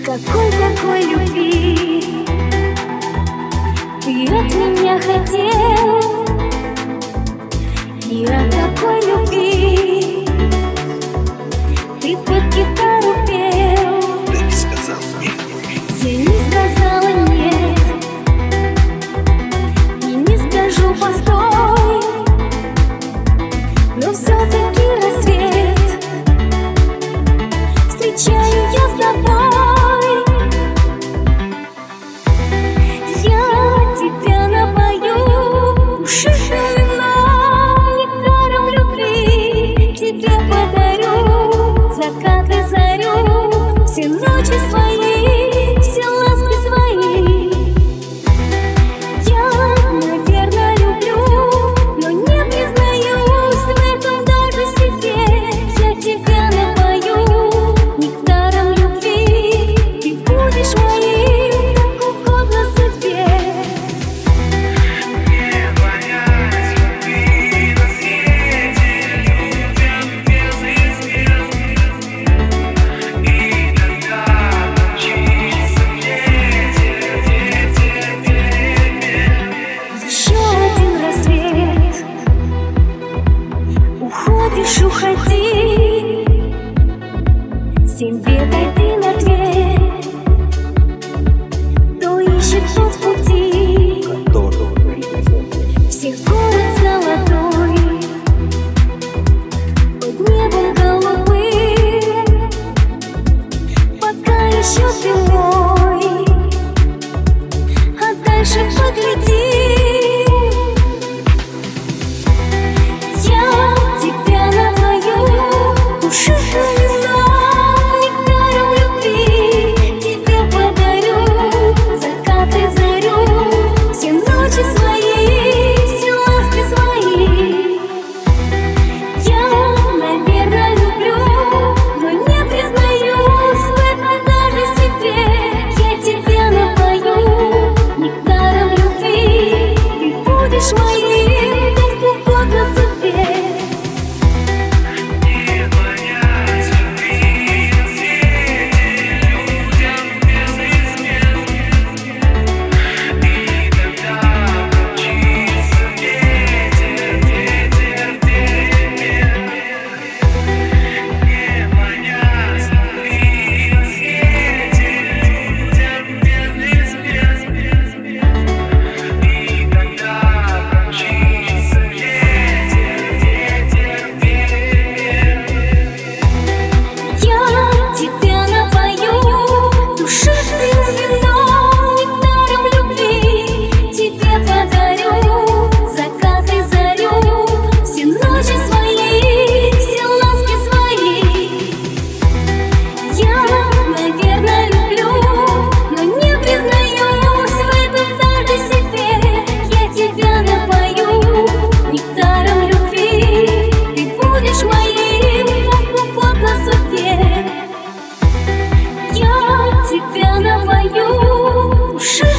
Какой любви ты от меня хотел? И о какой любви ты под гитару пел? Ты не сказал нет. Я не сказала нет, и не скажу постой, но все-таки рассвет встречаю я с тобой. Все ночи свои, все ласки свои. Я, наверное, люблю, но не признаюсь в этом даже себе. Я тебя напою нектаром любви, ты будешь моим, так угодно судьбе. Мне понять любви на свете людям безызвестным. Уходишь, уходи, 7 лет один ответ, кто ищет тот в пути. Всех город золотой, под небом голубым, пока еще ты мой, а дальше погляди. Я тебя напою.